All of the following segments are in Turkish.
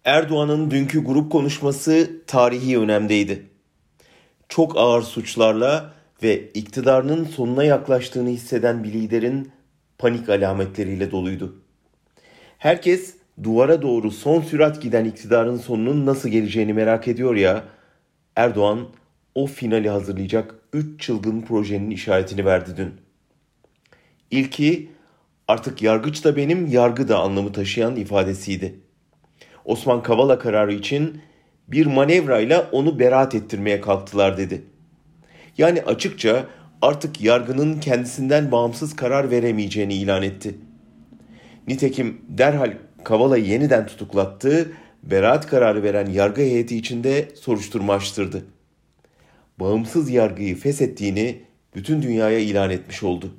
Erdoğan'ın dünkü grup konuşması tarihi önemdeydi. Çok ağır suçlarla ve iktidarının sonuna yaklaştığını hisseden bir liderin panik alametleriyle doluydu. Herkes duvara doğru son sürat giden iktidarın sonunun nasıl geleceğini merak ediyor ya, Erdoğan o finali hazırlayacak 3 çılgın projenin işaretini verdi dün. İlki artık yargıç da benim, yargı da anlamı taşıyan ifadesiydi. Osman Kavala kararı için bir manevrayla onu beraat ettirmeye kalktılar dedi. Yani açıkça artık yargının kendisinden bağımsız karar veremeyeceğini ilan etti. Nitekim derhal Kavala'yı yeniden tutuklattı, beraat kararı veren yargı heyeti içinde soruşturma açtırdı. Bağımsız yargıyı feshettiğini bütün dünyaya ilan etmiş oldu.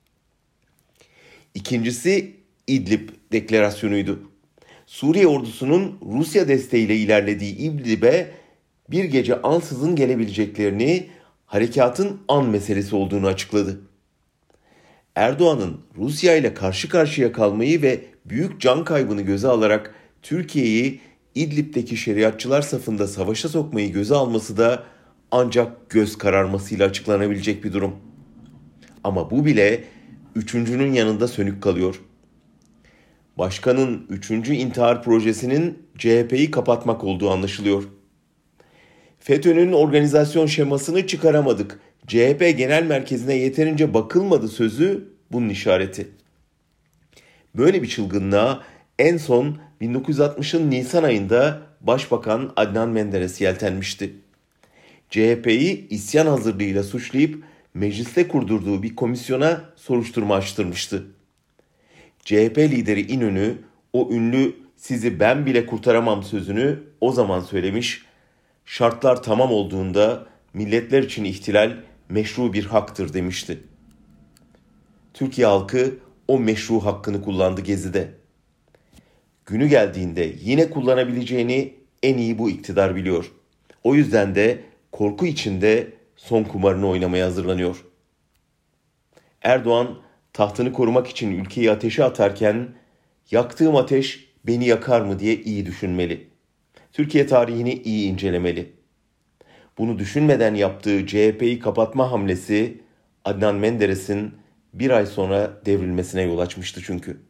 İkincisi İdlib deklarasyonuydu. Suriye ordusunun Rusya desteğiyle ilerlediği İdlib'e bir gece ansızın gelebileceklerini, harekatın an meselesi olduğunu açıkladı. Erdoğan'ın Rusya ile karşı karşıya kalmayı ve büyük can kaybını göze alarak Türkiye'yi İdlib'deki şeriatçılar safında savaşa sokmayı göze alması da ancak göz kararmasıyla açıklanabilecek bir durum. Ama bu bile üçüncünün yanında sönük kalıyor. Başkanın üçüncü intihar projesinin CHP'yi kapatmak olduğu anlaşılıyor. FETÖ'nün organizasyon şemasını çıkaramadık, CHP Genel Merkezi'ne yeterince bakılmadı sözü bunun işareti. Böyle bir çılgınlığa en son 1960'ın Nisan ayında Başbakan Adnan Menderes yeltenmişti. CHP'yi isyan hazırlığıyla suçlayıp mecliste kurdurduğu bir komisyona soruşturma açtırmıştı. CHP lideri İnönü o ünlü "sizi ben bile kurtaramam" sözünü o zaman söylemiş, şartlar tamam olduğunda milletler için ihtilal meşru bir haktır demişti. Türkiye halkı o meşru hakkını kullandı Gezi'de. Günü geldiğinde yine kullanabileceğini en iyi bu iktidar biliyor. O yüzden de korku içinde son kumarını oynamaya hazırlanıyor. Erdoğan tahtını korumak için ülkeyi ateşe atarken yaktığım ateş beni yakar mı diye iyi düşünmeli. Türkiye tarihini iyi incelemeli. Bunu düşünmeden yaptığı CHP'yi kapatma hamlesi Adnan Menderes'in bir ay sonra devrilmesine yol açmıştı çünkü.